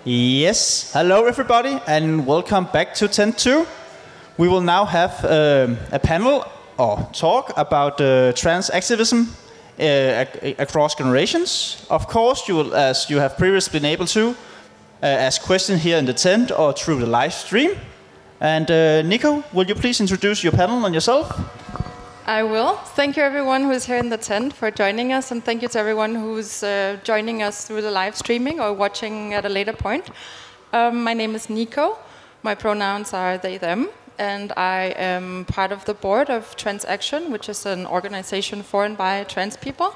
Yes, hello everybody and welcome back to Tent 2. We will now have a panel or talk about trans activism across generations. Of course, you will, as you have previously been able to, ask questions here in the tent or through the live stream. And Nico, will you please introduce your panel and yourself? I will. Thank you everyone who is here in the tent for joining us, and thank you to everyone who's joining us through the live streaming or watching at a later point. My name is Nico. My pronouns are they, them, and I am part of the board of Trans Action, which is an organization for and by trans people.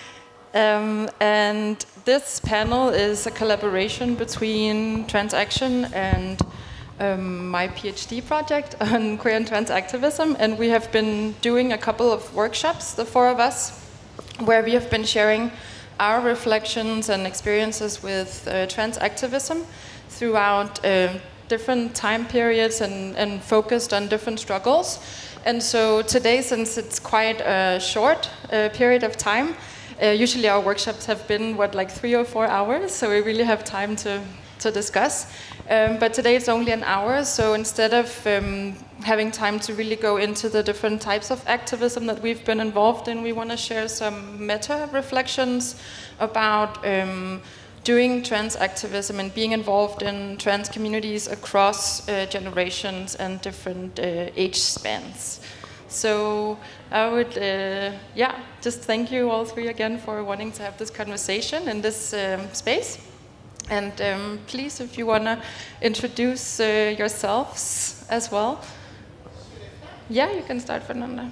And this panel is a collaboration between Trans Action and my PhD project on queer and trans activism, and we have been doing a couple of workshops, the four of us, where we have been sharing our reflections and experiences with trans activism throughout different time periods and focused on different struggles. And so today, since it's quite a short period of time, usually our workshops have been, like 3 or 4 hours, so we really have time to discuss. But today it's only an hour, so instead of having time to really go into the different types of activism that we've been involved in, we want to share some meta-reflections about doing trans activism and being involved in trans communities across generations and different age spans. So I would, just thank you all three again for wanting to have this conversation in this space. And please, if you want to introduce yourselves as well. Yeah, you can start, Fernanda.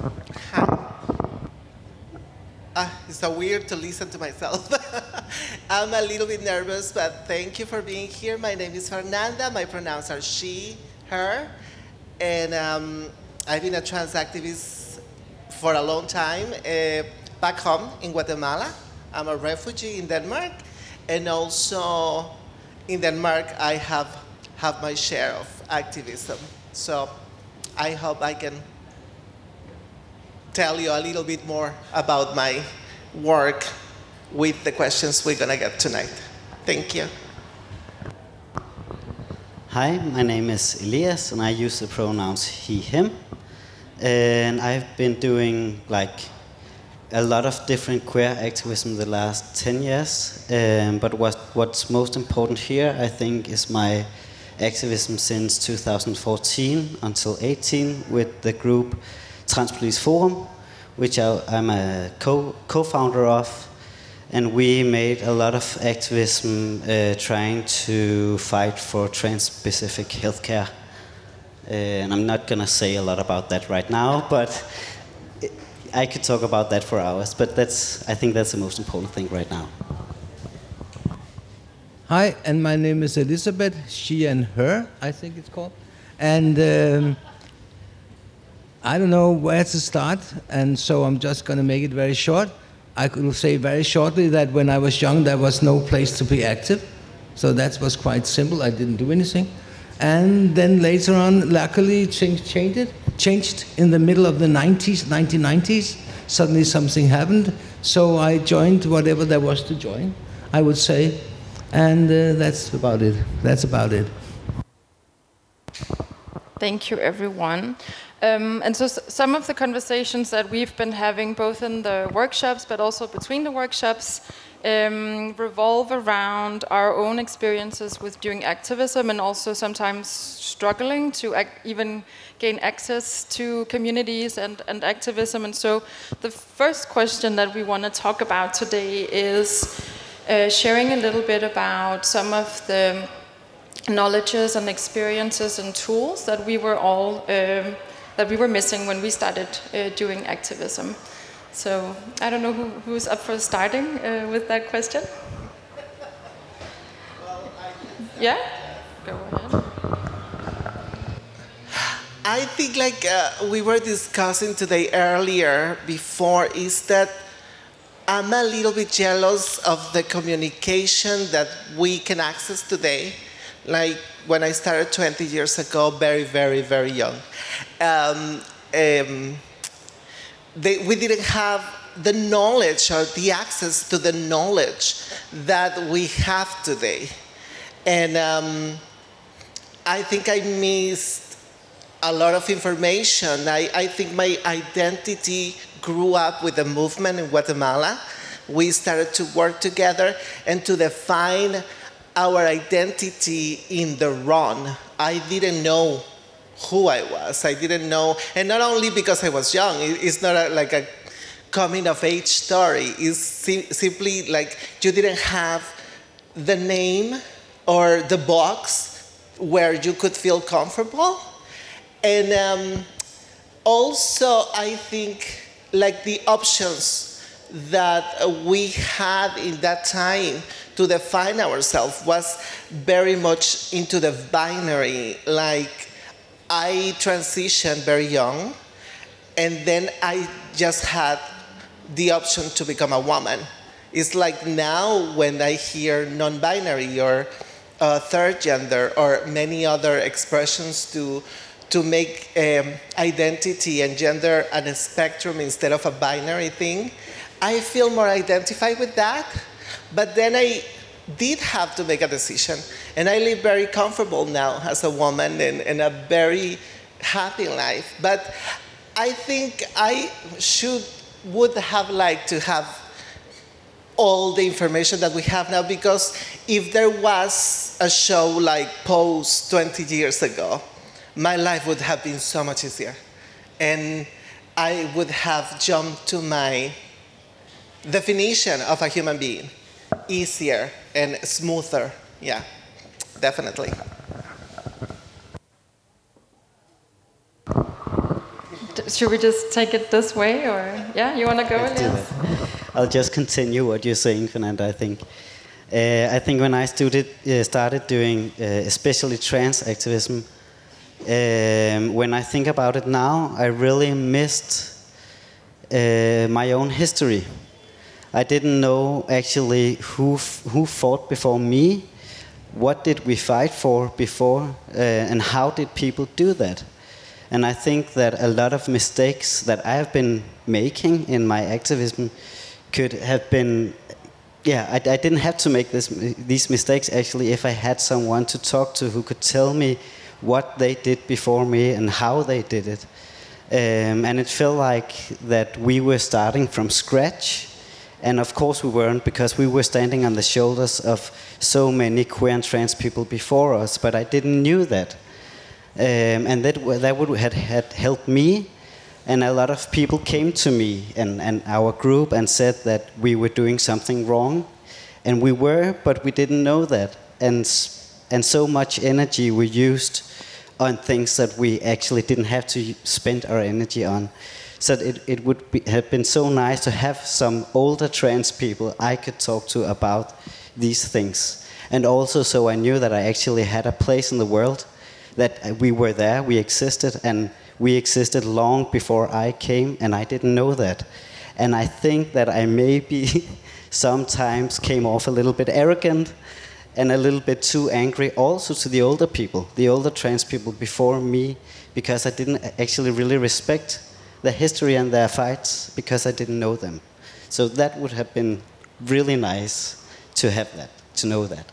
It's so weird to listen to myself. I'm a little bit nervous, but thank you for being here. My name is Fernanda. My pronouns are she, her. And I've been a trans activist for a long time back home in Guatemala. I'm a refugee in Denmark. And also in Denmark, I have my share of activism. So I hope I can tell you a little bit more about my work with the questions we're going to get tonight. Thank you. Hi, my name is Elias, and I use the pronouns he, him. And I've been doing a lot of different queer activism the last 10 years. But what's most important here, I think, is my activism since 2014 until 18 with the group Trans Politisk Forum, which I'm a co-founder of. And we made a lot of activism trying to fight for trans-specific healthcare. And I'm not going to say a lot about that right now, but I could talk about that for hours, but I think that's the most important thing right now. Hi, and my name is Elizabeth, she and her, I think it's called. And I don't know where to start, and so I'm just going to make it very short. I could say very shortly that when I was young, there was no place to be active. So that was quite simple, I didn't do anything. And then later on, luckily, things changed in the middle of the 1990s. Suddenly something happened, so I joined whatever there was to join, I would say. And that's about it. Thank you, everyone. And so some of the conversations that we've been having, both in the workshops, but also between the workshops, revolve around our own experiences with doing activism and also sometimes struggling to even gain access to communities and activism. And so the first question that we want to talk about today is sharing a little bit about some of the knowledges and experiences and tools that we were all that we were missing when we started doing activism. So I don't know who's up for starting with that question. Yeah? Go ahead. I think we were discussing today earlier before is that I'm a little bit jealous of the communication that we can access today. Like when I started 20 years ago, very, very, very young. We didn't have the knowledge or the access to the knowledge that we have today. And I think I missed a lot of information. I think my identity grew up with the movement in Guatemala. We started to work together and to define our identity in the run. I didn't know who I was. I didn't know, and not only because I was young. It's not like a coming of age story. It's simply like you didn't have the name or the box where you could feel comfortable. And also, I think like the options that we had in that time to define ourselves was very much into the binary. Like I transitioned very young, and then I just had the option to become a woman. It's like now when I hear non-binary or third gender or many other expressions to make identity and gender a spectrum instead of a binary thing, I feel more identified with that. But then I did have to make a decision, and I live very comfortable now as a woman and a very happy life. But I think I would have liked to have all the information that we have now, because if there was a show like Pose 20 years ago, my life would have been so much easier. And I would have jumped to my definition of a human being easier and smoother. Yeah, definitely. Should we just take it this way, or yeah, you want to go? Elias? I'll just continue what you're saying, Fernanda. I think when I started doing especially trans activism, when I think about it now, I really missed my own history. I didn't know actually who fought before me, what did we fight for before, and how did people do that. And I think that a lot of mistakes that I have been making in my activism could have been, I didn't have to make these mistakes actually if I had someone to talk to who could tell me what they did before me and how they did it. And it felt like that we were starting from scratch. And of course we weren't, because we were standing on the shoulders of so many queer and trans people before us, but I didn't knew that. And that would have helped me, and a lot of people came to me and our group and said that we were doing something wrong, and we were, but we didn't know that, and so much energy we used on things that we actually didn't have to spend our energy on. So it would have been so nice to have some older trans people I could talk to about these things, and also so I knew that I actually had a place in the world, that we were there, we existed, and we existed long before I came, and I didn't know that. And I think that I maybe sometimes came off a little bit arrogant and a little bit too angry also to the older people, the older trans people before me, because I didn't actually really respect their history and their fights, because I didn't know them. So that would have been really nice to have that, to know that.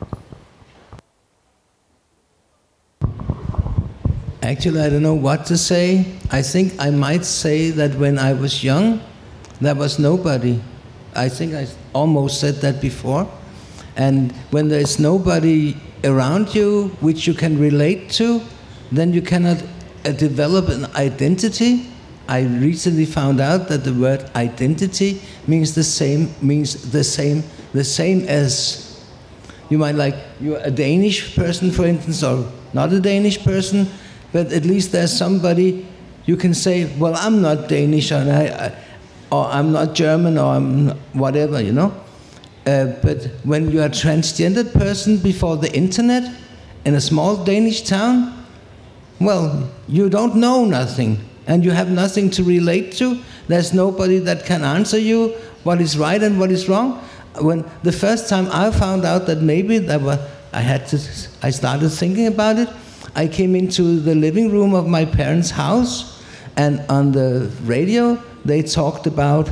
Actually, I don't know what to say. I think I might say that when I was young, there was nobody. I think I almost said that before. And when there is nobody around you which you can relate to, then you cannot develop an identity. I recently found out that the word identity means the same as, you might like, you're a Danish person, for instance, or not a Danish person, but at least there's somebody you can say, well, I'm not Danish, or I'm not German, or I'm whatever, you know. But when you're a transgendered person before the internet in a small Danish town, well, you don't know nothing, and you have nothing to relate to. There's nobody that can answer you what is right and what is wrong. When the first time I found out that maybe I started thinking about it. I came into the living room of my parents' house, and on the radio they talked about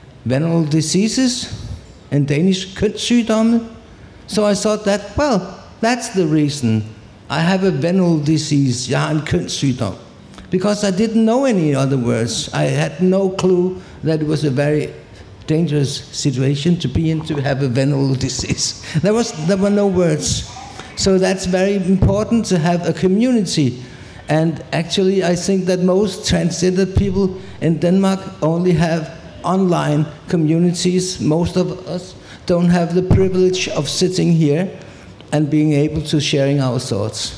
venereal diseases and Danish kønssygdomme. So I thought that, well, That's the reason. I have a venereal disease. Jeg har en kønssygdom. Because I didn't know any other words. I had no clue that it was a very dangerous situation to be in, to have a venereal disease. There were no words. So that's very important to have a community. And actually, I think that most transgender people in Denmark only have online communities. Most of us don't have the privilege of sitting here and being able to sharing our thoughts.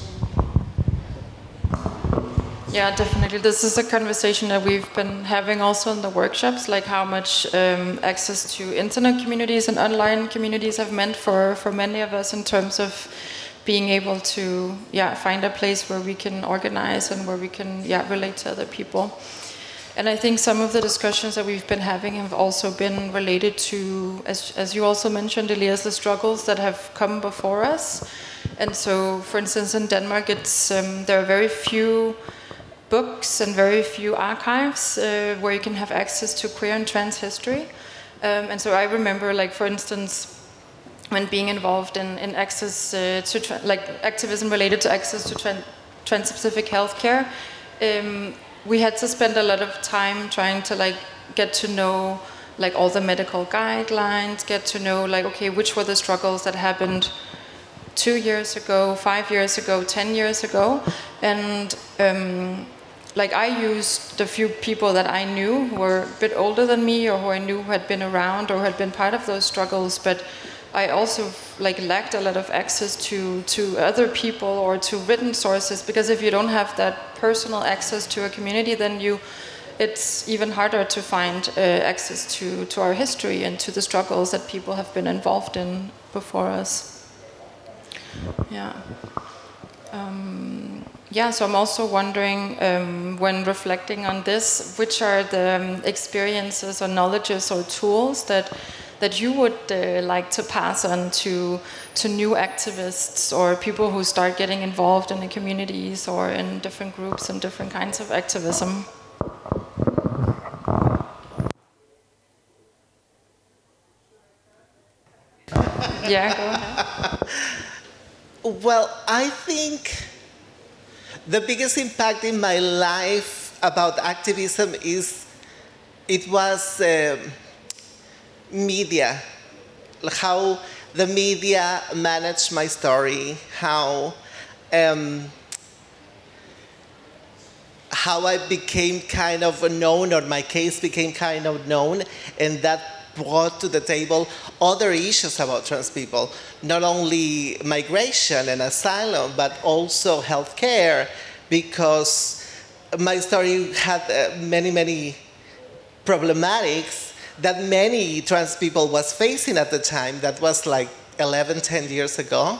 Yeah, definitely. This is a conversation that we've been having also in the workshops, like how much access to internet communities and online communities have meant for many of us in terms of being able to find a place where we can organize and where we can relate to other people. And I think some of the discussions that we've been having have also been related to, as you also mentioned, Elias, the struggles that have come before us. And so, for instance, in Denmark, there are very few books and very few archives where you can have access to queer and trans history. And so I remember, like, for instance, when being involved in access to activism related to access to trans-specific healthcare, we had to spend a lot of time trying to get to know all the medical guidelines, get to know okay, which were the struggles that happened 2 years ago, 5 years ago, 10 years ago, and I used the few people that I knew who were a bit older than me, or who I knew who had been around or had been part of those struggles, but I also lacked a lot of access to other people or to written sources, because if you don't have that personal access to a community, then it's even harder to find access to our history and to the struggles that people have been involved in before us. So I'm also wondering, when reflecting on this, which are the experiences or knowledges or tools that you would like to pass on to new activists or people who start getting involved in the communities or in different groups and different kinds of activism? Yeah, go ahead. Well, I think the biggest impact in my life about activism was media, how the media managed my story, how I became kind of known, or my case became kind of known, and that brought to the table other issues about trans people, not only migration and asylum, but also healthcare, because my story had many problematics that many trans people was facing at the time. That was 10 years ago.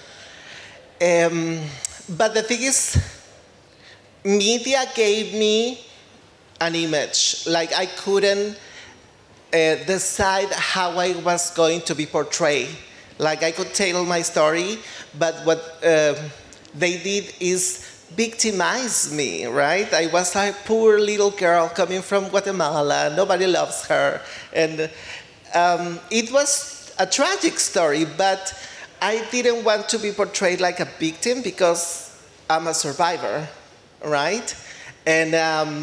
But the thing is, media gave me an image. I couldn't decide how I was going to be portrayed. I could tell my story, but what they did is victimize me, right? I was a poor little girl coming from Guatemala. Nobody loves her. And it was a tragic story, but I didn't want to be portrayed like a victim because I'm a survivor, right? And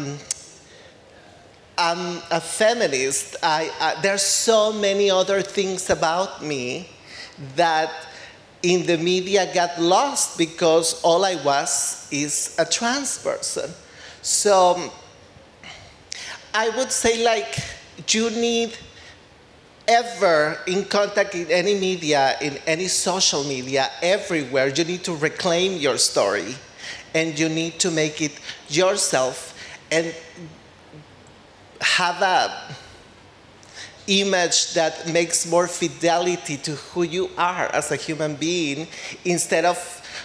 I'm a feminist. There's so many other things about me that in the media got lost because all I was is a trans person. So I would say you need ever in contact in any media, in any social media, everywhere, you need to reclaim your story and you need to make it yourself and have a image that makes more fidelity to who you are as a human being, instead of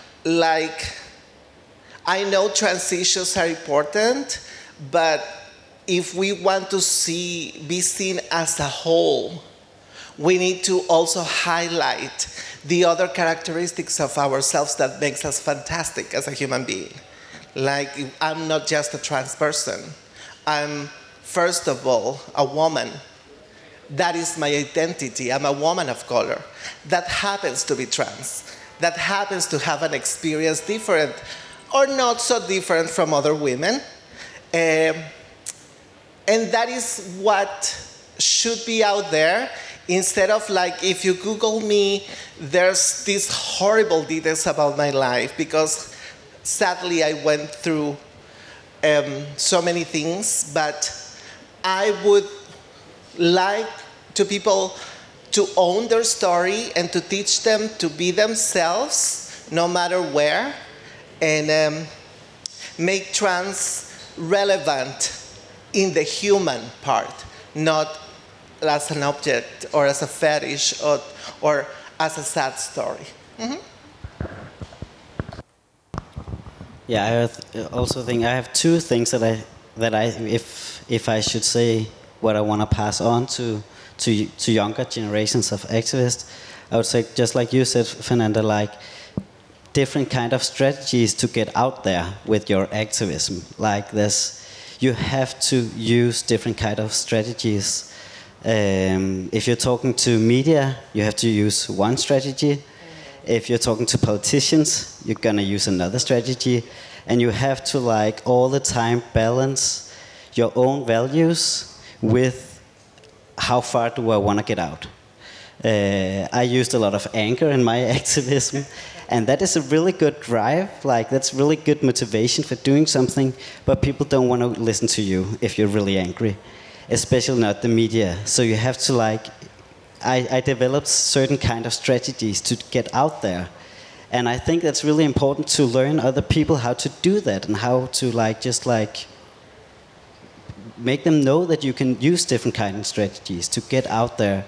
I know transitions are important, but if we want to be seen as a whole, we need to also highlight the other characteristics of ourselves that makes us fantastic as a human being. I'm not just a trans person. I'm, first of all, a woman. That is my identity. I'm a woman of color that happens to be trans. that happens to have an experience different or not so different from other women. And that is what should be out there, instead of like, if you Google me, there's these horrible details about my life, because sadly I went through so many things. But I would like to people to own their story and to teach them to be themselves no matter where, and make trans relevant in the human part, not as an object or as a fetish or as a sad story. Mm-hmm. Yeah, also think I have two things that I if I should say what I want to pass on to younger generations of activists, I would say, just like you said, Fernanda, like different kind of strategies to get out there with your activism. Like this, you have to use different kind of strategies. If you're talking to media, you have to use one strategy. If you're talking to politicians, you're gonna use another strategy, and you have to like all the time balance your own values with how far do I want to get out. I used a lot of anger in my activism, and that is a really good drive. Like that's really good motivation for doing something, but people don't want to listen to you if you're really angry, especially not the media. So you have to like. I developed certain kind of strategies to get out there, and I think that's really important to learn other people how to do that and how to like just like make them know that you can use different kind of strategies to get out there.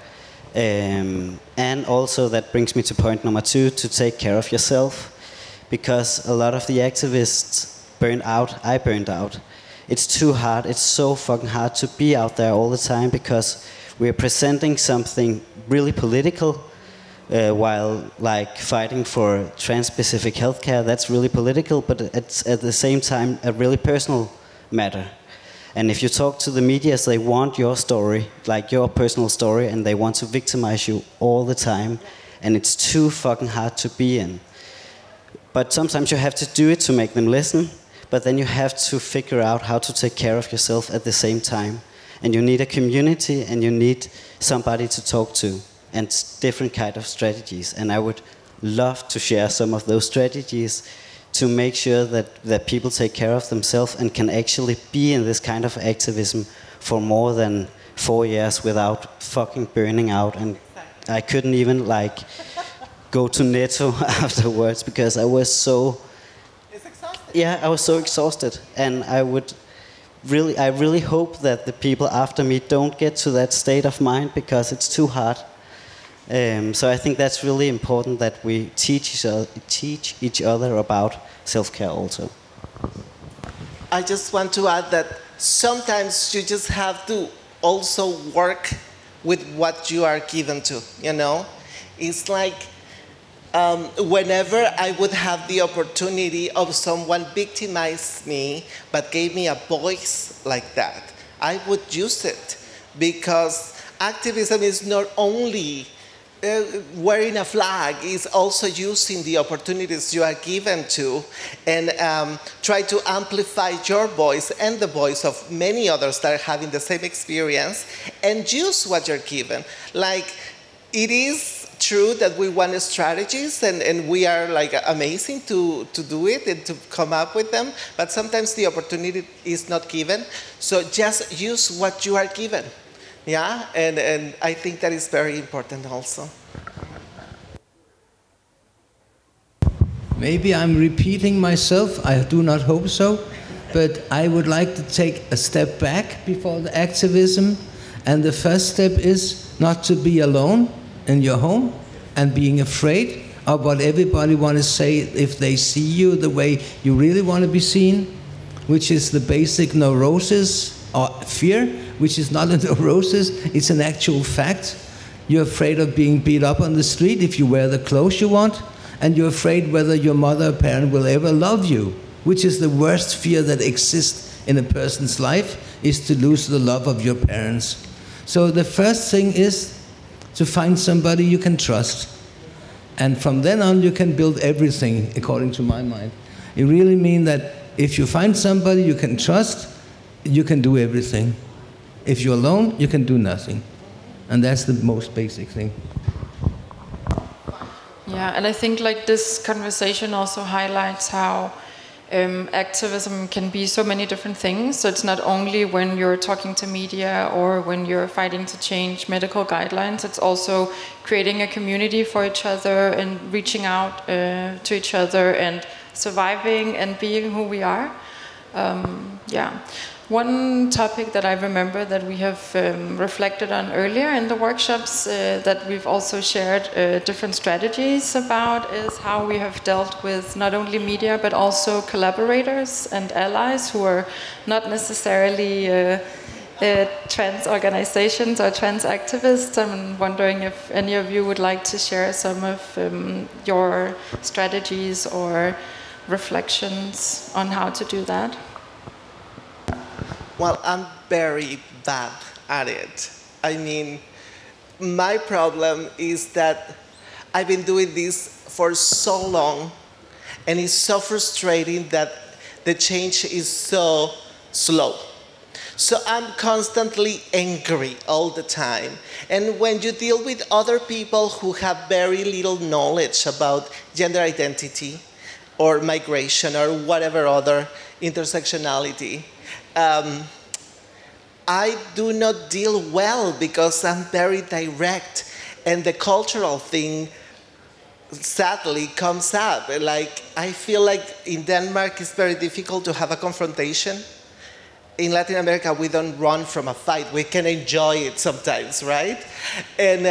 And also that brings me to point number 2, to take care of yourself, because a lot of the activists burned out. I burned out. It's too hard. It's so fucking hard to be out there all the time, because we're presenting something really political while like fighting for trans-specific healthcare. That's really political, but it's at the same time a really personal matter. And if you talk to the media, they want your story, like your personal story, and they want to victimize you all the time. And it's too fucking hard to be in. But sometimes you have to do it to make them listen, but then you have to figure out how to take care of yourself at the same time. And you need a community, and you need somebody to talk to, and different kind of strategies. And I would love to share some of those strategies to make sure that people take care of themselves and can actually be in this kind of activism for more than 4 years without fucking burning out. And I couldn't even like go to Netto afterwards, because I was so... It's exhausting. Yeah, I was so exhausted. And I really hope that the people after me don't get to that state of mind, because it's too hard. So I think that's really important, that we teach each other about self-care also. I just want to add that sometimes you just have to also work with what you are given to, you know? It's like whenever I would have the opportunity of someone victimized me but gave me a voice like that, I would use it, because activism is not only wearing a flag, is also using the opportunities you are given to, and try to amplify your voice and the voice of many others that are having the same experience, and use what you're given. Like, it is true that we want strategies, and we are like amazing to do it and to come up with them, but sometimes the opportunity is not given. So just use what you are given. Yeah, and I think that is very important also. Maybe I'm repeating myself, I do not hope so, but I would like to take a step back before the activism, and the first step is not to be alone in your home and being afraid of what everybody want to say if they see you the way you really want to be seen, which is the basic neurosis or fear, which is not a neurosis, it's an actual fact. You're afraid of being beat up on the street if you wear the clothes you want, and you're afraid whether your mother or parent will ever love you, which is the worst fear that exists in a person's life, is to lose the love of your parents. So the first thing is to find somebody you can trust. And from then on, you can build everything, according to my mind. It really means that if you find somebody you can trust, you can do everything. If you're alone, you can do nothing. And that's the most basic thing. Yeah, and I think like this conversation also highlights how activism can be so many different things. So it's not only when you're talking to media or when you're fighting to change medical guidelines, it's also creating a community for each other and reaching out to each other and surviving and being who we are. Yeah. One topic that I remember that we have reflected on earlier in the workshops that we've also shared different strategies about is how we have dealt with not only media but also collaborators and allies who are not necessarily trans organizations or trans activists. I'm wondering if any of you would like to share some of your strategies or reflections on how to do that. Well, I'm very bad at it. I mean, my problem is that I've been doing this for so long, and it's so frustrating that the change is so slow. So I'm constantly angry all the time. And when you deal with other people who have very little knowledge about gender identity or migration or whatever other intersectionality, I do not deal well because I'm very direct, and the cultural thing sadly comes up. Like, I feel like in Denmark it's very difficult to have a confrontation. In Latin America, we don't run from a fight. We can enjoy it sometimes, right? And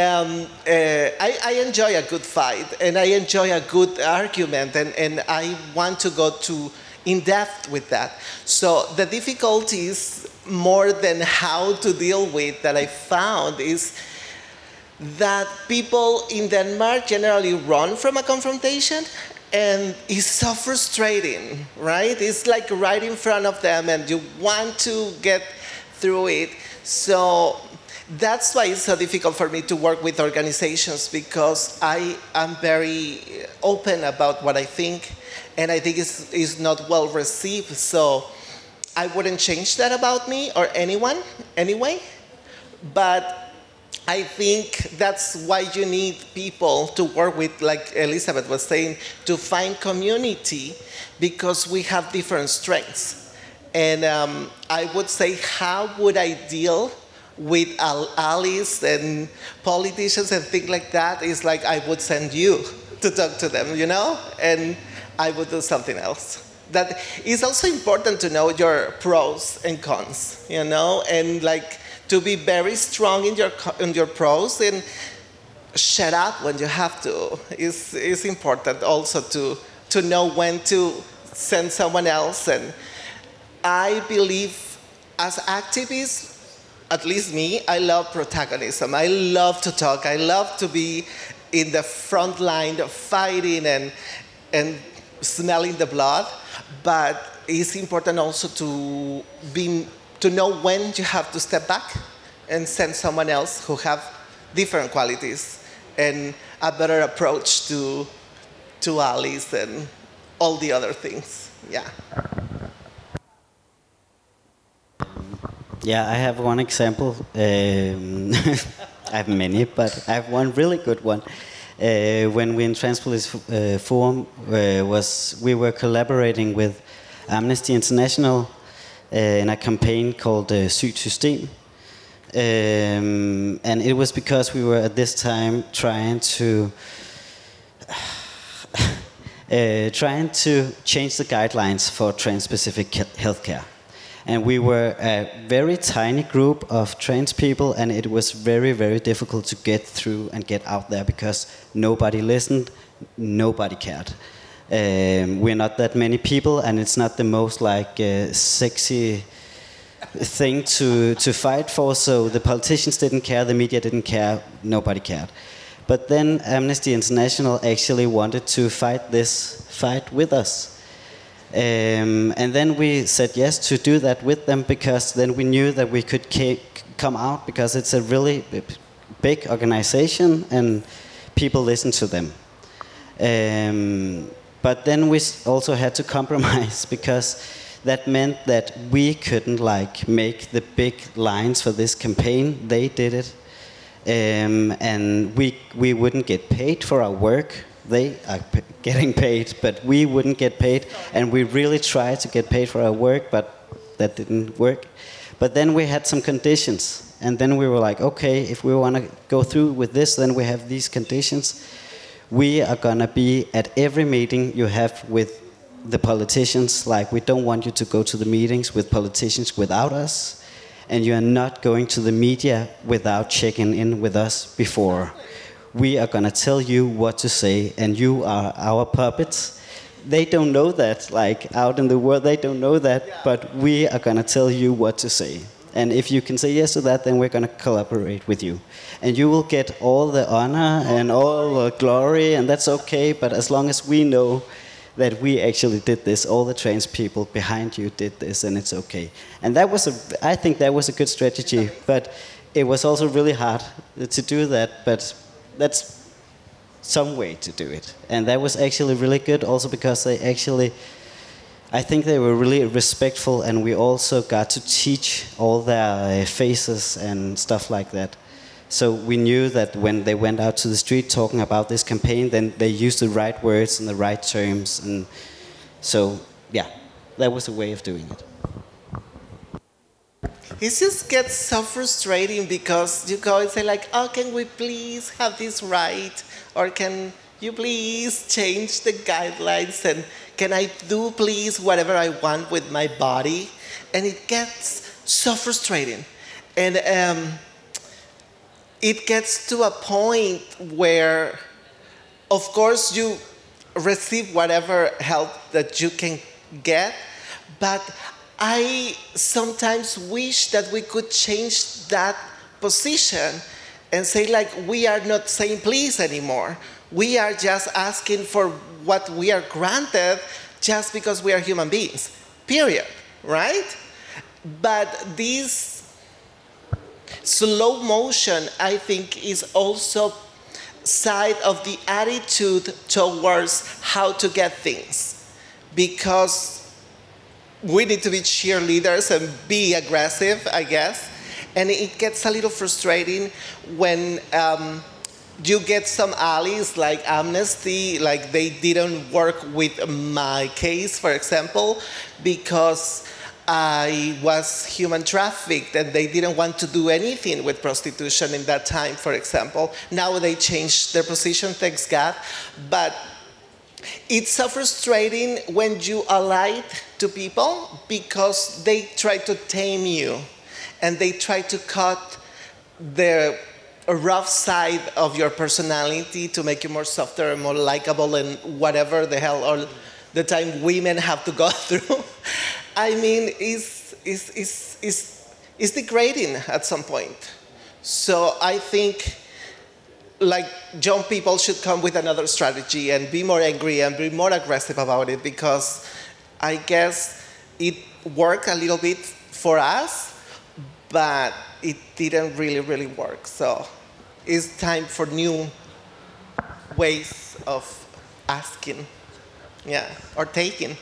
I enjoy a good fight, and I enjoy a good argument, and I want to go in depth with that. So the difficulties, more than how to deal with, that I found is that people in Denmark generally run from a confrontation, and it's so frustrating, right? It's like right in front of them and you want to get through it. So that's why it's so difficult for me to work with organizations, because I am very open about what I think, and I think it's not well received. So I wouldn't change that about me or anyone anyway, but I think that's why you need people to work with, like Elizabeth was saying, to find community, because we have different strengths. And I would say, how would I deal with allies and politicians and things like that? It's like I would send you to talk to them, you know? And I would do something else. That is also important to know your pros and cons, you know? And like, to be very strong in your pros and shut up when you have to is important also to know when to send someone else. And I believe as activists, at least me, I love protagonism. I love to talk. I love to be in the front line of fighting and smelling the blood. But it's important also to know when you have to step back and send someone else who have different qualities and a better approach to allies and all the other things. Yeah. Yeah, I have one example. I have many, but I have one really good one. When we in Transpolice Forum we were collaborating with Amnesty International in a campaign called Sygt System. And it was because we were at this time trying to change the guidelines for trans-specific healthcare. And we were a very tiny group of trans people, and it was very, very difficult to get through and get out there because nobody listened, nobody cared. We're not that many people, and it's not the most sexy thing to fight for. So the politicians didn't care, the media didn't care, nobody cared. But then Amnesty International actually wanted to fight this fight with us. And then we said yes to do that with them, because then we knew that we could come out, because it's a really big organization and people listen to them. But then we also had to compromise because that meant that we couldn't like make the big lines for this campaign. They did it. And we wouldn't get paid for our work. They are getting paid, but we wouldn't get paid. And we really tried to get paid for our work, but that didn't work. But then we had some conditions. And then we were like, okay, if we want to go through with this, then we have these conditions. We are going to be at every meeting you have with the politicians. Like, we don't want you to go to the meetings with politicians without us. And you are not going to the media without checking in with us before. We are going to tell you what to say, and you are our puppets. They don't know that, like out in the world, they don't know that, but we are going to tell you what to say. And if you can say yes to that, then we're going to collaborate with you. And you will get all the honor and all the glory, and that's okay, but as long as we know that we actually did this, all the trans people behind you did this, and it's okay. And that was I think that was a good strategy, but it was also really hard to do that, but that's some way to do it. And that was actually really good also because I think they were really respectful, and we also got to teach all their faces and stuff like that. So we knew that when they went out to the street talking about this campaign, then they used the right words and the right terms. And so, yeah, that was a way of doing it. It just gets so frustrating because you go and say like, oh, can we please have this right? Or can you please change the guidelines? And can I do please whatever I want with my body? And it gets so frustrating. And it gets to a point where, of course, you receive whatever help that you can get, but I sometimes wish that we could change that position and say, like, we are not saying please anymore. We are just asking for what we are granted just because we are human beings, period, right? But this slow motion, I think, is also side of the attitude towards how to get things. Because we need to be cheerleaders and be aggressive, I guess. And it gets a little frustrating when you get some allies like Amnesty, like they didn't work with my case, for example, because I was human trafficked and they didn't want to do anything with prostitution in that time, for example. Now they changed their position, thanks God. But it's so frustrating when you ally to people because they try to tame you and they try to cut the rough side of your personality to make you more softer and more likable and whatever the hell all the time women have to go through. I mean, it's degrading at some point. So I think like young people should come with another strategy and be more angry and be more aggressive about it, because I guess it worked a little bit for us, but it didn't really work. So it's time for new ways of asking, yeah, or taking.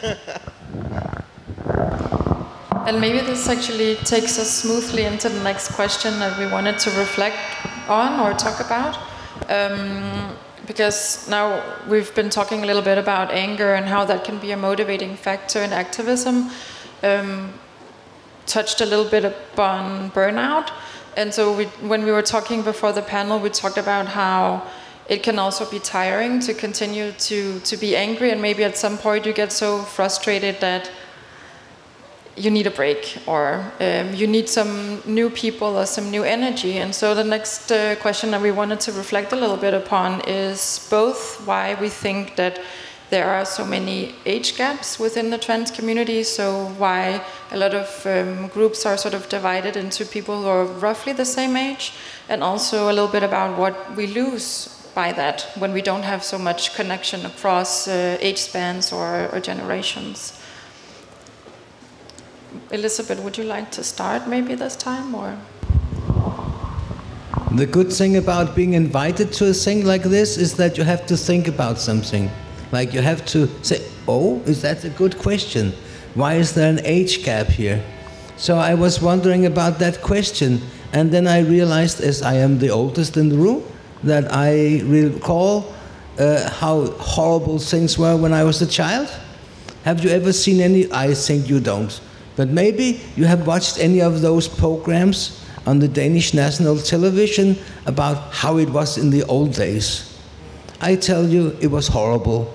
And maybe this actually takes us smoothly into the next question that we wanted to reflect on or talk about. Because now we've been talking a little bit about anger and how that can be a motivating factor in activism. Touched a little bit upon burnout. And so when we were talking before the panel, we talked about how it can also be tiring to continue to be angry, and maybe at some point you get so frustrated that you need a break, or you need some new people or some new energy. And so the next question that we wanted to reflect a little bit upon is both why we think that there are so many age gaps within the trans community, so why a lot of groups are sort of divided into people who are roughly the same age, and also a little bit about what we lose by that when we don't have so much connection across age spans or generations. Elizabeth, would you like to start maybe this time, or? The good thing about being invited to a thing like this is that you have to think about something. Like you have to say, oh, is that a good question? Why is there an age gap here? So I was wondering about that question, and then I realized, as I am the oldest in the room, that I recall how horrible things were when I was a child. Have you ever seen any? I think you don't. But maybe you have watched any of those programs on the Danish national television about how it was in the old days. I tell you, it was horrible.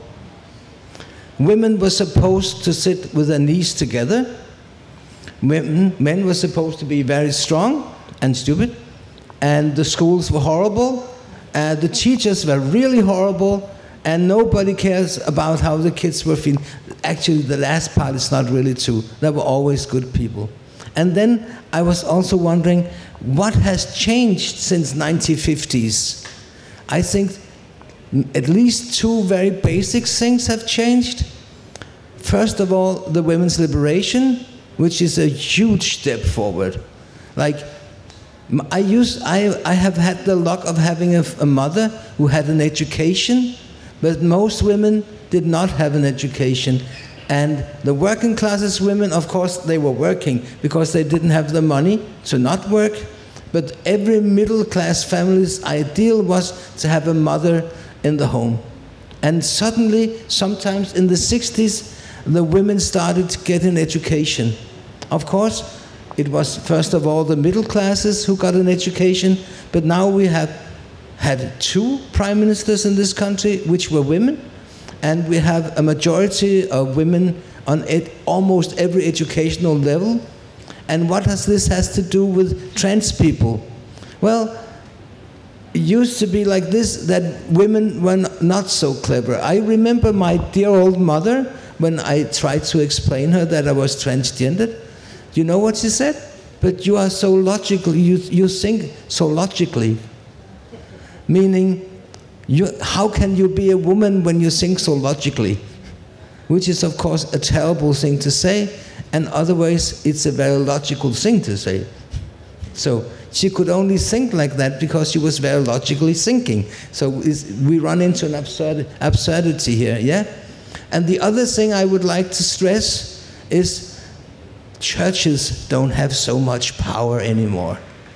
Women were supposed to sit with their knees together. Men were supposed to be very strong and stupid. And the schools were horrible. The teachers were really horrible. And nobody cares about how the kids were feeling. Actually, the last part is not really true. There were always good people. And then I was also wondering, what has changed since 1950s? I think at least two very basic things have changed. First of all, the women's liberation, which is a huge step forward. Like, I have had the luck of having a mother who had an education, but most women did not have an education. And the working classes women, of course, they were working because they didn't have the money to not work. But every middle class family's ideal was to have a mother in the home. And suddenly, sometimes in the 60s, the women started to get an education. Of course, it was first of all the middle classes who got an education, but now we have had two prime ministers in this country which were women, and we have a majority of women on almost every educational level. And what has this to do with trans people? Well, it used to be like this, that women were not so clever. I remember my dear old mother, when I tried to explain her that I was transgendered. You know what she said? But you are so logical, you think so logically. Meaning, how can you be a woman when you think so logically? Which is, of course, a terrible thing to say, and otherwise it's a very logical thing to say. So she could only think like that because she was very logically thinking. So we run into an absurdity here, yeah? And the other thing I would like to stress is churches don't have so much power anymore.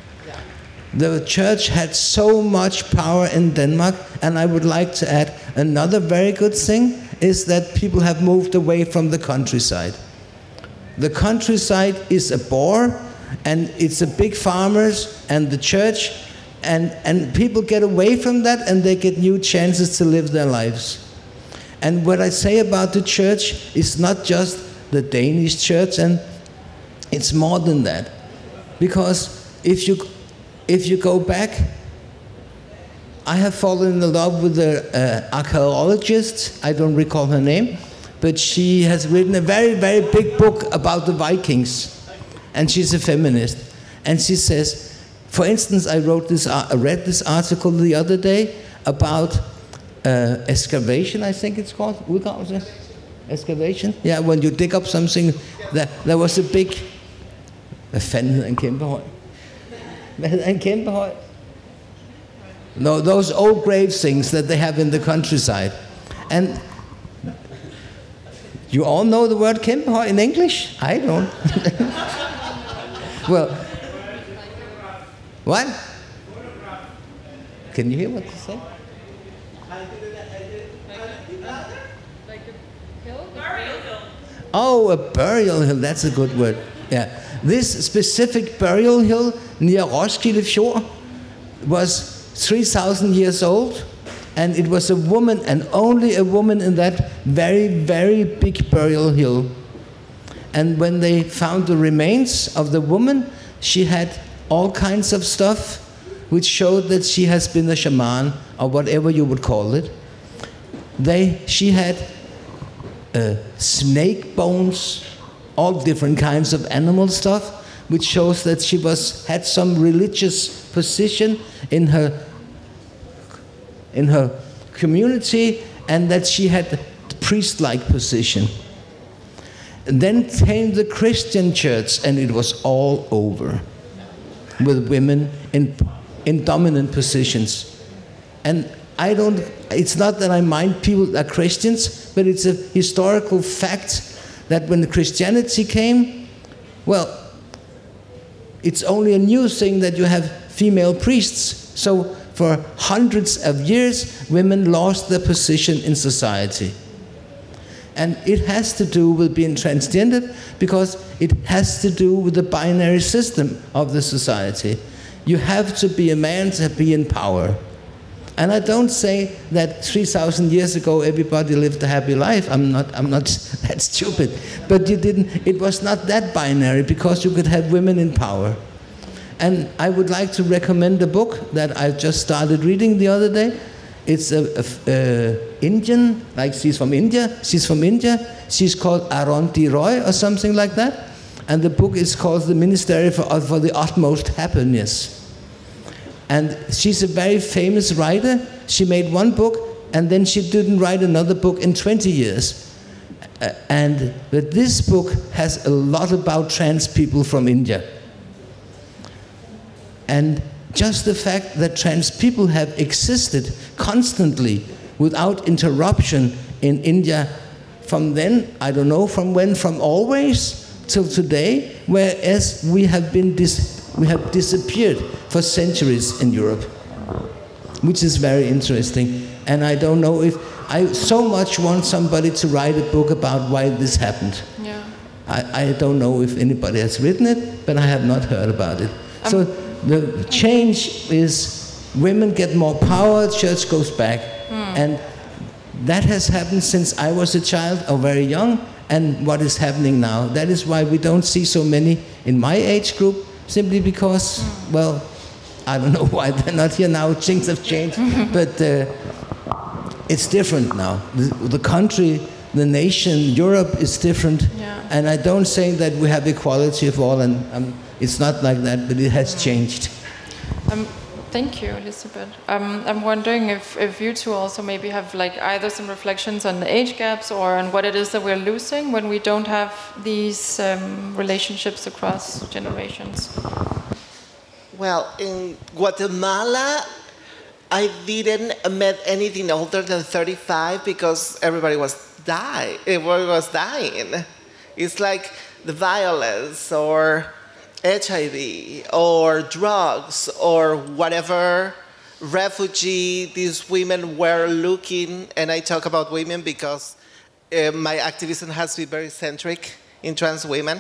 The church had so much power in Denmark, and I would like to add another very good thing is that people have moved away from the countryside. The countryside is a bore, and it's a big farmers and the church, and people get away from that and they get new chances to live their lives. And what I say about the church is not just the Danish church, and it's more than that. Because if you go back, I have fallen in love with an archaeologist, I don't recall her name, but she has written a very, very big book about the Vikings. And she's a feminist. And she says, for instance, I read this article the other day about excavation, I think it's called. Excavation? Yeah, when you dig up something, there was a big... Hvad fanden hedder en kæmpe høj? Hvad hedder en kæmpe høj? No, those old grave things that they have in the countryside. And you all know the word kæmpe høj in English? I don't. Well, what? Can you hear what they say? Oh, a burial hill, that's a good word. Yeah. This specific burial hill near Roskilde Fjord was 3,000 years old, and it was a woman, and only a woman, in that very, very big burial hill. And when they found the remains of the woman, she had all kinds of stuff which showed that she has been a shaman, or whatever you would call it. She had snake bones, all different kinds of animal stuff, which shows that she had some religious position in her community, and that she had a priest-like position. And then came the Christian church, and it was all over, with women in in dominant positions. And it's not that I mind people that are Christians, but it's a historical fact that when Christianity came, well, it's only a new thing that you have female priests. So for hundreds of years, women lost their position in society. And it has to do with being transgender because it has to do with the binary system of the society. You have to be a man to be in power. And I don't say that 3,000 years ago everybody lived a happy life. I'm not that stupid. But it was not that binary because you could have women in power. And I would like to recommend a book that I just started reading the other day. It's a Indian, like she's from India. She's She's called Arundhati Roy or something like that. And the book is called The Ministry for the Utmost Happiness. And she's a very famous writer. She made one book, and then she didn't write another book in 20 years. But this book has a lot about trans people from India. And just the fact that trans people have existed constantly without interruption in India from then, I don't know from when, from always till today, whereas we have disappeared for centuries in Europe, which is very interesting. And I don't know if I so much want somebody to write a book about why this happened. Yeah. I don't know if anybody has written it, but I have not heard about it. So the change is women get more power, church goes back. And that has happened since I was a child or very young, and what is happening now. That is why we don't see so many in my age group, simply because, well, I don't know why they're not here now, things have changed, but it's different now. The country, the nation, Europe is different, and I don't say that we have equality of all, and it's not like that, but it has changed. Thank you, Elisabeth. I'm wondering if you two also maybe have like either some reflections on the age gaps or on what it is that we're losing when we don't have these relationships across generations. Well, in Guatemala, I didn't met anything older than 35 because everybody was dying. It's like the violence or HIV or drugs or whatever refugee these women were looking, and I talk about women because my activism has to be very centric in trans women.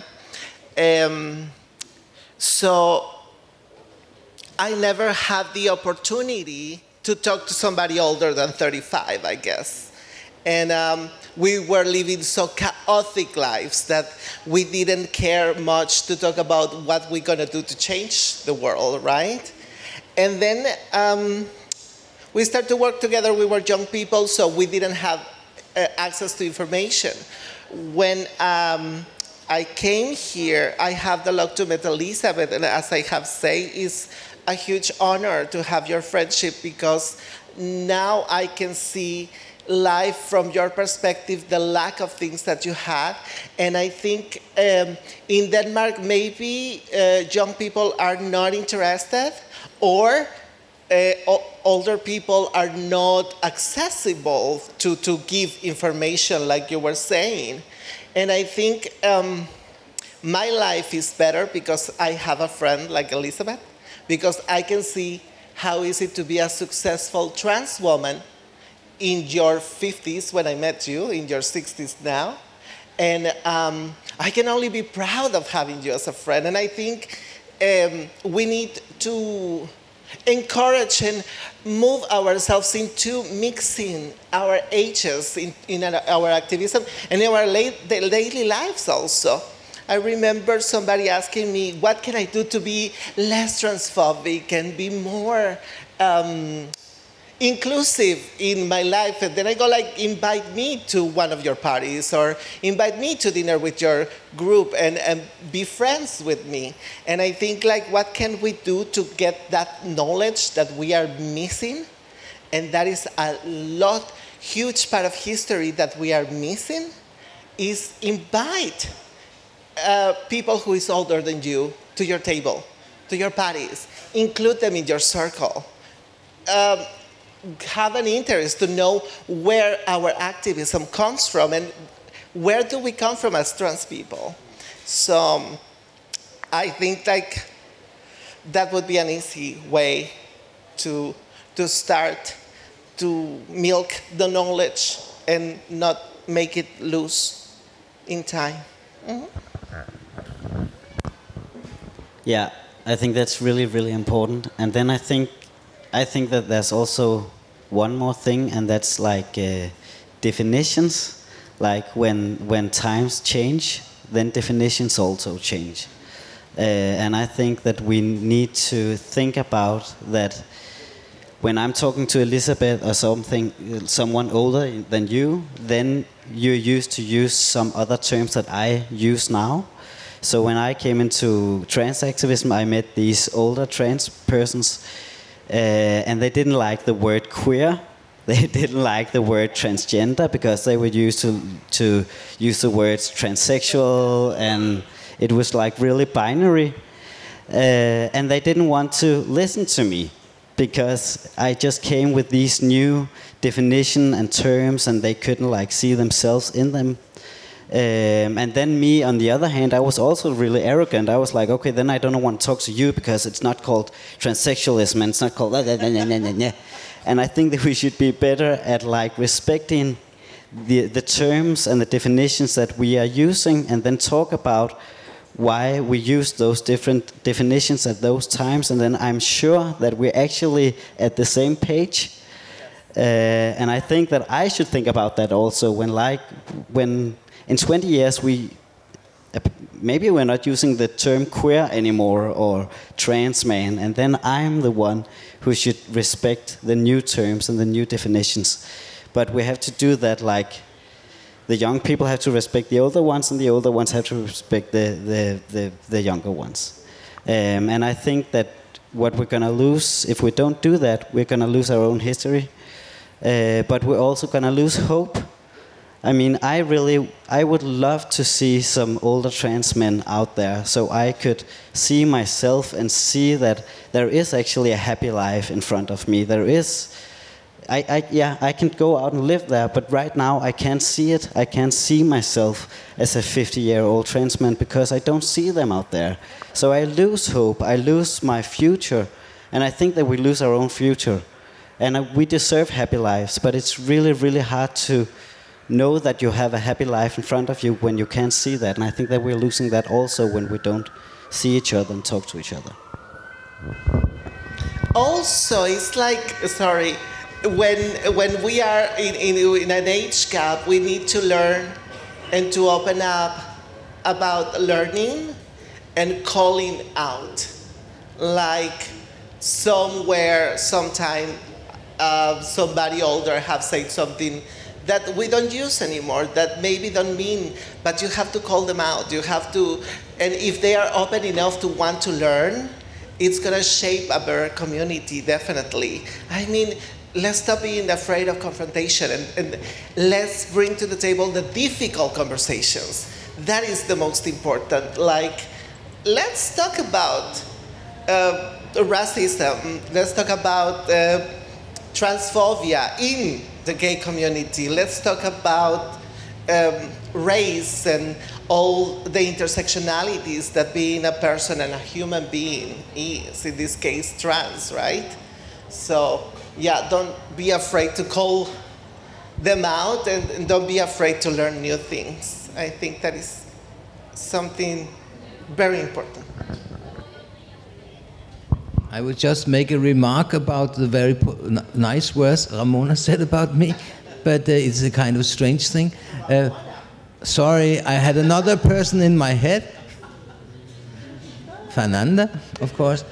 So I never had the opportunity to talk to somebody older than 35, I guess. And we were living so chaotic lives that we didn't care much to talk about what we're going to do to change the world, right? And then we started to work together. We were young people, so we didn't have access to information. When I came here, I have the luck to meet Elisabeth, and as I have said, it's a huge honor to have your friendship because now I can see life from your perspective, the lack of things that you had. And I think in Denmark, maybe young people are not interested or older people are not accessible to give information like you were saying. And I think my life is better because I have a friend like Elisabeth, because I can see how is it to be a successful trans woman in your 50s when I met you, in your 60s now. And I can only be proud of having you as a friend. And I think we need to encourage and move ourselves into mixing our ages in our activism and in our daily lives also. I remember somebody asking me, what can I do to be less transphobic and be more inclusive in my life? And then I go like, invite me to one of your parties or invite me to dinner with your group and be friends with me. And I think like, what can we do to get that knowledge that we are missing? And that is a huge part of history that we are missing, is invite people who is older than you to your table, to your buddies. Include them in your circle. Have an interest to know where our activism comes from and where do we come from as trans people. So I think like that would be an easy way to start to milk the knowledge and not make it lose in time. Mm-hmm. Yeah, I think that's really, really important. And then I think that there's also one more thing, and that's like definitions. Like when times change, then definitions also change. And I think that we need to think about that. When I'm talking to Elizabeth or someone older than you, then you used to use some other terms that I use now. So when I came into trans activism, I met these older trans persons, and they didn't like the word queer. They didn't like the word transgender because they were used to use the words transsexual, and it was like really binary. And they didn't want to listen to me, because I just came with these new definition and terms, and they couldn't like see themselves in them. And then me, on the other hand, I was also really arrogant. I was like, okay, then I don't want to talk to you because it's not called transsexualism and it's not called and I think that we should be better at like respecting the terms and the definitions that we are using, and then talk about why we use those different definitions at those times, and then I'm sure that we're actually at the same page. And I think that I should think about that also when in 20 years maybe we're not using the term queer anymore or trans man, and then I'm the one who should respect the new terms and the new definitions. But we have to do that like the young people have to respect the older ones, and the older ones have to respect the younger ones. And I think that what we're going to lose, if we don't do that, we're going to lose our own history. But we're also going to lose hope. I mean, I would love to see some older trans men out there, so I could see myself and see that there is actually a happy life in front of me. There is... I can go out and live there, but right now I can't see it. I can't see myself as a 50-year-old trans man because I don't see them out there. So I lose hope, I lose my future, and I think that we lose our own future. And we deserve happy lives, but it's really, really hard to know that you have a happy life in front of you when you can't see that. And I think that we're losing that also when we don't see each other and talk to each other. Also, it's like, sorry, when we are in an age gap, we need to learn and to open up about learning and calling out. Like somewhere, sometime, somebody older have said something that we don't use anymore, that maybe don't mean, but you have to call them out. You have to, and if they are open enough to want to learn, it's gonna shape a better community, definitely. I mean, let's stop being afraid of confrontation and let's bring to the table the difficult conversations. That is the most important. Like, let's talk about racism. Let's talk about transphobia in the gay community. Let's talk about race and all the intersectionalities that being a person and a human being is, in this case, trans, right? So, yeah, don't be afraid to call them out and don't be afraid to learn new things. I think that is something very important. I would just make a remark about the very nice words Ramona said about me, but it's a kind of strange thing. Sorry, I had another person in my head. Fernanda, of course.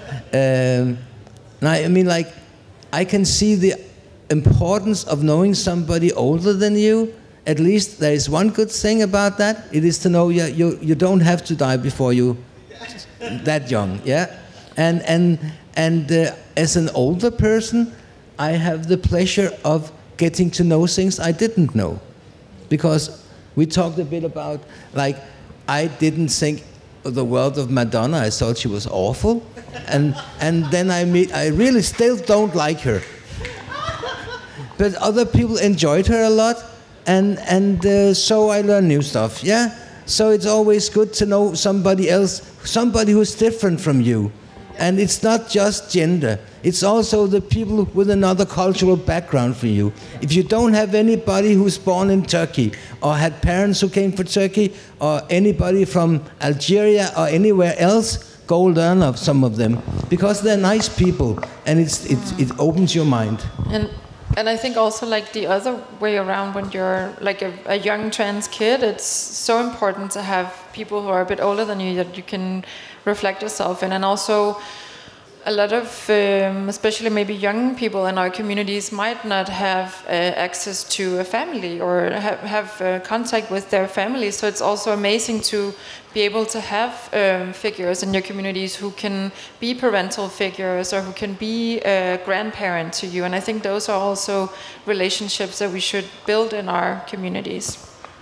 I mean, like, I can see the importance of knowing somebody older than you. At least there is one good thing about that. It is to know you don't have to die before you that young, yeah? And as an older person, I have the pleasure of getting to know things I didn't know. Because we talked a bit about, like, I didn't think the world of Madonna. I thought she was awful, and then I really still don't like her. But other people enjoyed her a lot, and so I learned new stuff. Yeah. So it's always good to know somebody else, somebody who's different from you. And it's not just gender. It's also the people with another cultural background for you. If you don't have anybody who's born in Turkey, or had parents who came from Turkey, or anybody from Algeria or anywhere else, go learn of some of them. Because they're nice people, and it opens your mind. And I think also like the other way around, when you're like a young trans kid, it's so important to have people who are a bit older than you that you can reflect yourself in. And also a lot of, especially maybe young people in our communities might not have access to a family or have contact with their family. So it's also amazing to be able to have figures in your communities who can be parental figures or who can be a grandparent to you. And I think those are also relationships that we should build in our communities.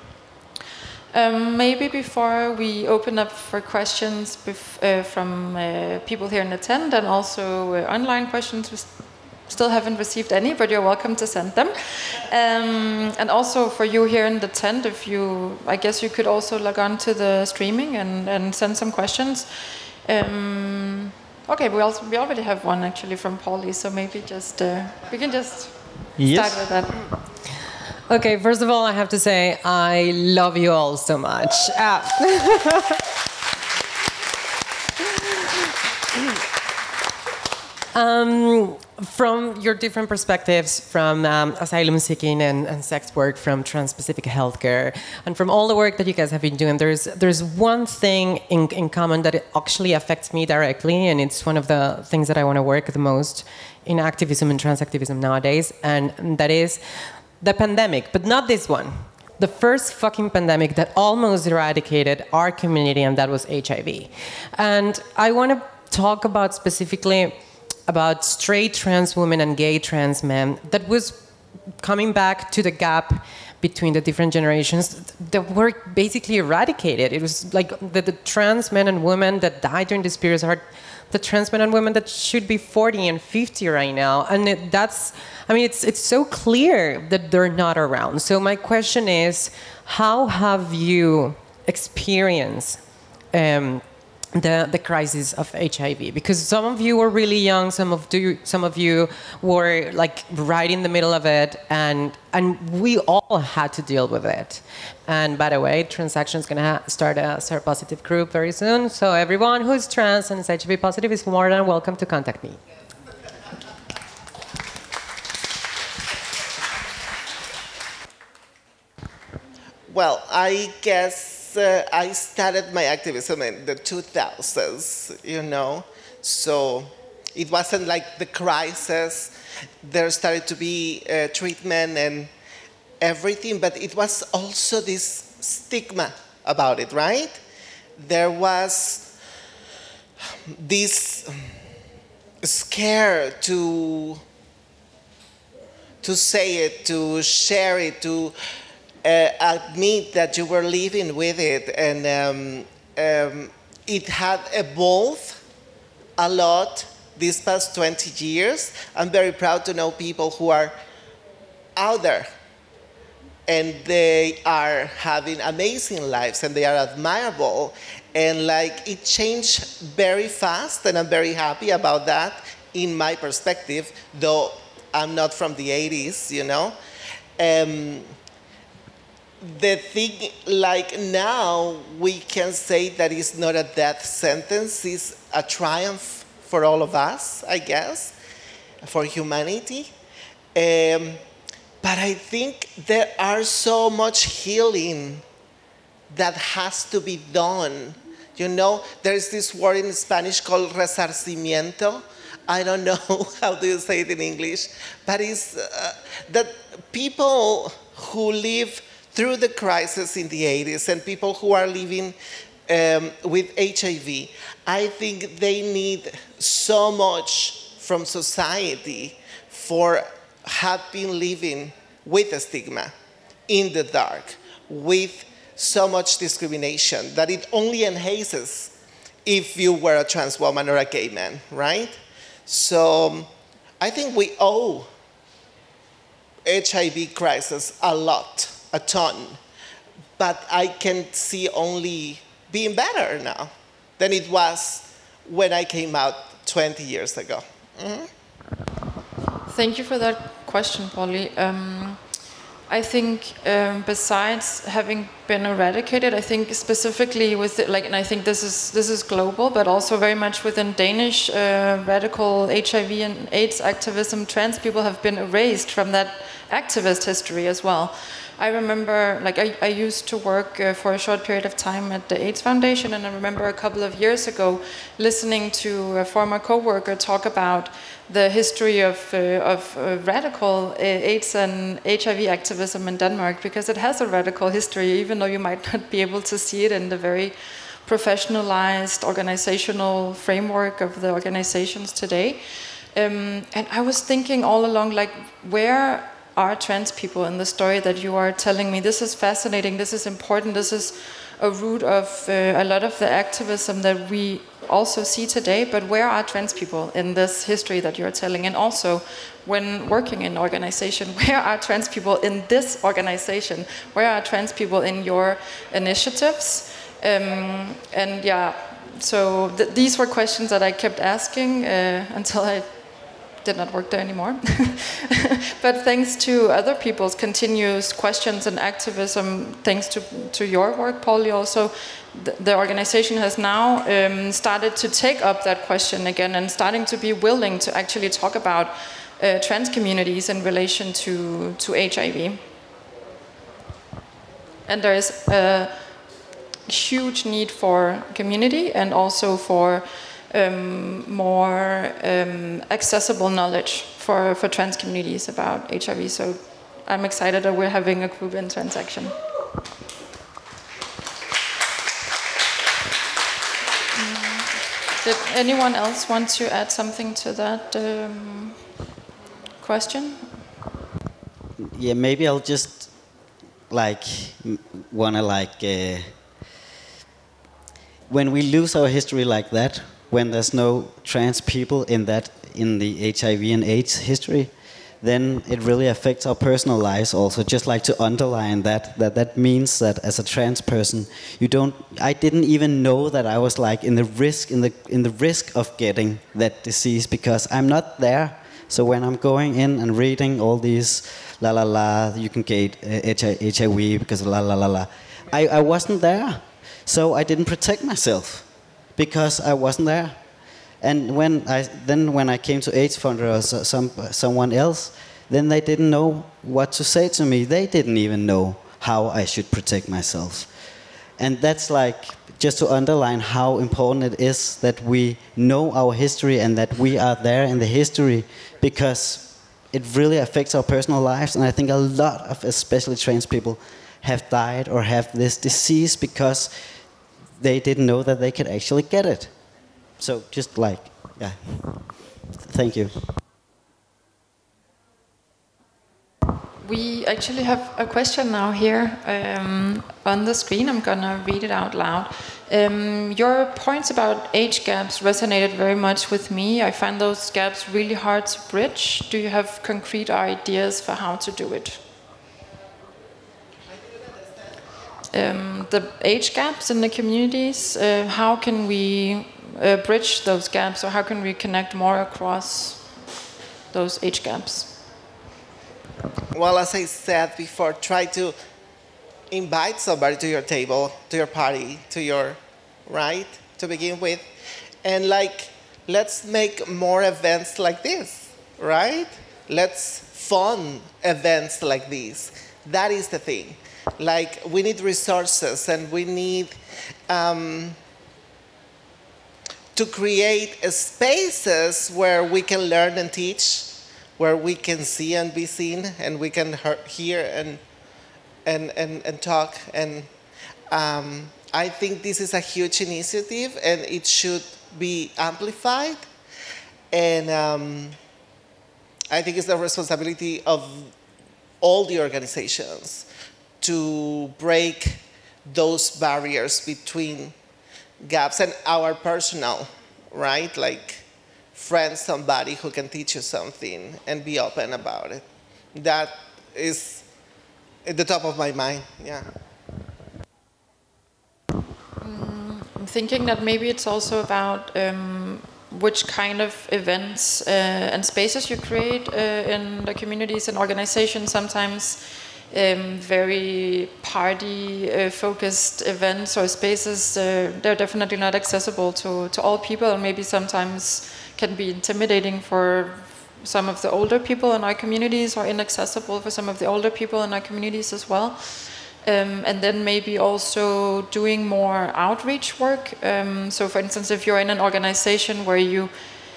Maybe before we open up for questions from people here in the tent, and also online questions, we still haven't received any, but you're welcome to send them. And also for you here in the tent, I guess you could also log on to the streaming and send some questions. Okay, we already have one actually from Paulie, so maybe just we can just start with that. Okay, first of all, I have to say I love you all so much. From your different perspectives, from asylum seeking and sex work, from trans-specific healthcare, and from all the work that you guys have been doing, there's one thing in common that actually affects me directly, and it's one of the things that I want to work the most in activism and trans activism nowadays, and that is the pandemic, but not this one. The first fucking pandemic that almost eradicated our community, and that was HIV. And I want to talk about specifically about straight trans women and gay trans men that was coming back to the gap between the different generations that were basically eradicated. It was like the trans men and women that died during this period are the trans men and women that should be 40 and 50 right now. And it's so clear that they're not around. So my question is, how have you experienced the crisis of HIV? Because some of you were really young, some of you were like right in the middle of it, and we all had to deal with it. And by the way, Transaction is going to start a seropositive group very soon. So everyone who is trans and is HIV positive is more than welcome to contact me. Well, I guess I started my activism in the 2000s, so it wasn't like the crisis. There started to be treatment and everything, but it was also this stigma about it, right? There was this scare to say it, to share it, to admit that you were living with it, and it had evolved a lot these past 20 years. I'm very proud to know people who are out there, and they are having amazing lives, and they are admirable, and it changed very fast, and I'm very happy about that in my perspective, though I'm not from the 80s, The thing, now, we can say that it's not a death sentence, it's a triumph for all of us, I guess, for humanity. But I think there are so much healing that has to be done. There is this word in Spanish called resarcimiento. I don't know how do you say it in English, but it's that people who live through the crisis in the 80s and people who are living with HIV, I think they need so much from society for have been living with a stigma, in the dark, with so much discrimination that it only enhances if you were a trans woman or a gay man, right? So I think we owe HIV crisis a lot, a ton, but I can see only being better now than it was when I came out 20 years ago. Mm-hmm. Thank you for that question, Polly. I think besides having been eradicated, I think specifically with and I think this is global, but also very much within Danish radical HIV and AIDS activism, trans people have been erased from that activist history as well. I remember, I used to work for a short period of time at the AIDS Foundation, and I remember a couple of years ago listening to a former coworker talk about the history of radical AIDS and HIV activism in Denmark, because it has a radical history, even though you might not be able to see it in the very professionalized organizational framework of the organizations today. And I was thinking all along, where are trans people in the story that you are telling me? This is fascinating, this is important, this is a root of a lot of the activism that we also see today, but where are trans people in this history that you're telling? And also, when working in organization, where are trans people in this organization? Where are trans people in your initiatives? And yeah, so these were questions that I kept asking until I did not work there anymore. But thanks to other people's continuous questions and activism, thanks to your work, Polly, also, the organization has now started to take up that question again and starting to be willing to actually talk about trans communities in relation to HIV. And there is a huge need for community and also for more accessible knowledge for trans communities about HIV. So I'm excited that we're having a group in Transaction. Did anyone else want to add something to that question? Yeah, maybe I'll just wanna when we lose our history like that, when there's no trans people in the HIV and AIDS history, then it really affects our personal lives also. Just like to underline that means that as a trans person, I didn't even know that I was in the risk of getting that disease because I'm not there. So when I'm going in and reading all these you can get HIV because I wasn't there. So I didn't protect myself because I wasn't there. And when I came to AIDS Fund or someone else, then they didn't know what to say to me. They didn't even know how I should protect myself. And that's just to underline how important it is that we know our history and that we are there in the history, because it really affects our personal lives. And I think a lot of especially trans people have died or have this disease because they didn't know that they could actually get it. So just yeah. Thank you. We actually have a question now here on the screen. I'm gonna read it out loud. Your points about age gaps resonated very much with me. I find those gaps really hard to bridge. Do you have concrete ideas for how to do it? The age gaps in the communities, how can we bridge those gaps, or how can we connect more across those age gaps? Well, as I said before, try to invite somebody to your table, to your party, to begin with. And let's make more events like this, right? Let's fund events like this. That is the thing. We need resources, and we need to create spaces where we can learn and teach, where we can see and be seen, and we can hear and talk. And I think this is a huge initiative, and it should be amplified. And I think it's the responsibility of all the organizations to break those barriers between gaps and our personal, right? Like friend somebody who can teach you something and be open about it. That is at the top of my mind, yeah. I'm thinking that maybe it's also about which kind of events and spaces you create in the communities and organizations. Sometimes very party-focused events or spaces, they're definitely not accessible to all people, and maybe sometimes can be intimidating for some of the older people in our communities, or inaccessible for some of the older people in our communities as well. And then maybe also doing more outreach work. So for instance, if you're in an organization where you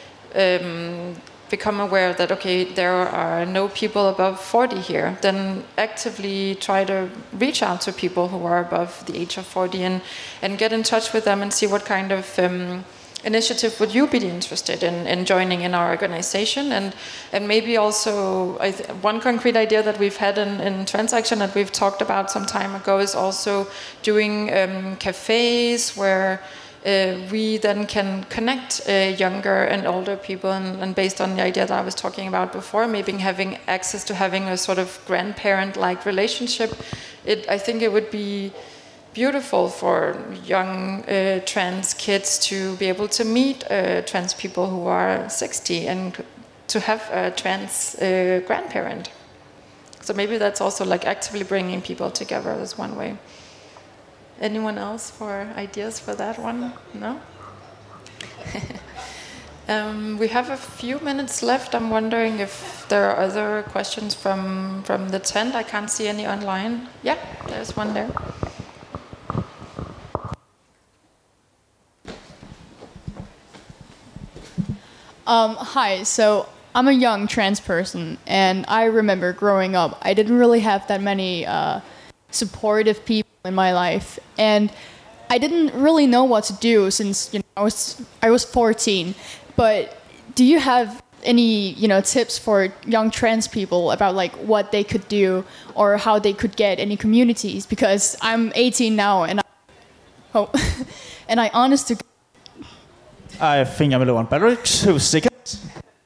become aware that, okay, there are no people above 40 here, then actively try to reach out to people who are above the age of 40 and get in touch with them and see what kind of initiative would you be interested in joining in our organization. And maybe also one concrete idea that we've had in Transaction that we've talked about some time ago is also doing cafes where we then can connect younger and older people, and based on the idea that I was talking about before, maybe having access to having a sort of grandparent-like relationship. I think it would be beautiful for young trans kids to be able to meet trans people who are 60 and to have a trans grandparent. So maybe that's also like actively bringing people together as one way. Anyone else for ideas for that one? No? We have a few minutes left. I'm wondering if there are other questions from the tent. I can't see any online. Yeah, there's one there. Hi, so I'm a young trans person, and I remember growing up, I didn't really have that many supportive people in my life, and I didn't really know what to do since I was 14. But do you have any tips for young trans people about like what they could do or how they could get any communities? Because I'm 18 now, and I honest to I think I'm low on battery. 2 seconds.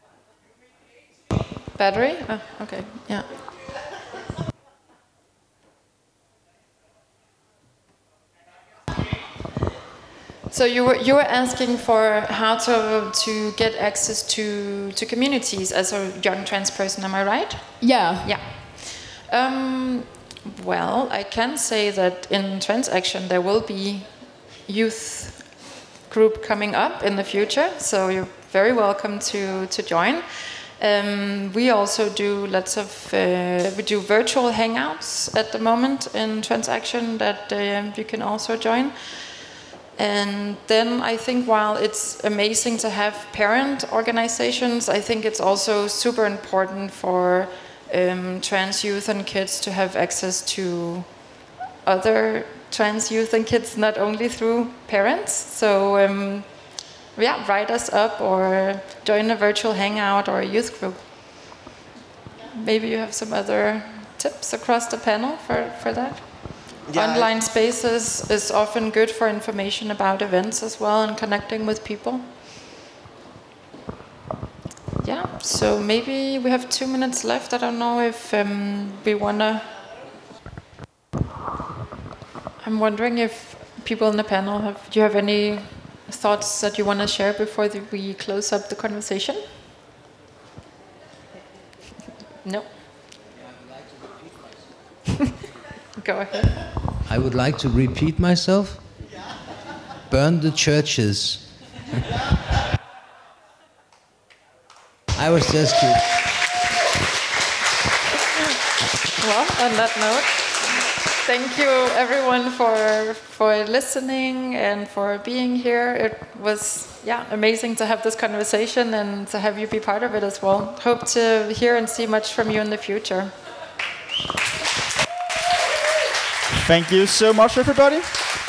Battery? Oh, okay, yeah. So you were asking for how to get access to communities as a young trans person, am I right? Yeah. Yeah. Well, I can say that in Transaction there will be youth group coming up in the future, so you're very welcome to join. We also do lots of we do virtual hangouts at the moment in Transaction that you can also join. And then I think while it's amazing to have parent organizations, I think it's also super important for trans youth and kids to have access to other trans youth and kids, not only through parents. So yeah, write us up or join a virtual hangout or a youth group. Maybe you have some other tips across the panel for that? Yeah. Online spaces is often good for information about events as well and connecting with people. Yeah, so maybe we have 2 minutes left. I don't know if we want to... I'm wondering if people in the panel do you have any thoughts that you want to share before we close up the conversation? No? Go ahead. I would like to repeat myself. Burn the churches. I was just kidding. Well, on that note, thank you everyone for listening and for being here. It was amazing to have this conversation and to have you be part of it as well. Hope to hear and see much from you in the future. Thank you so much, everybody.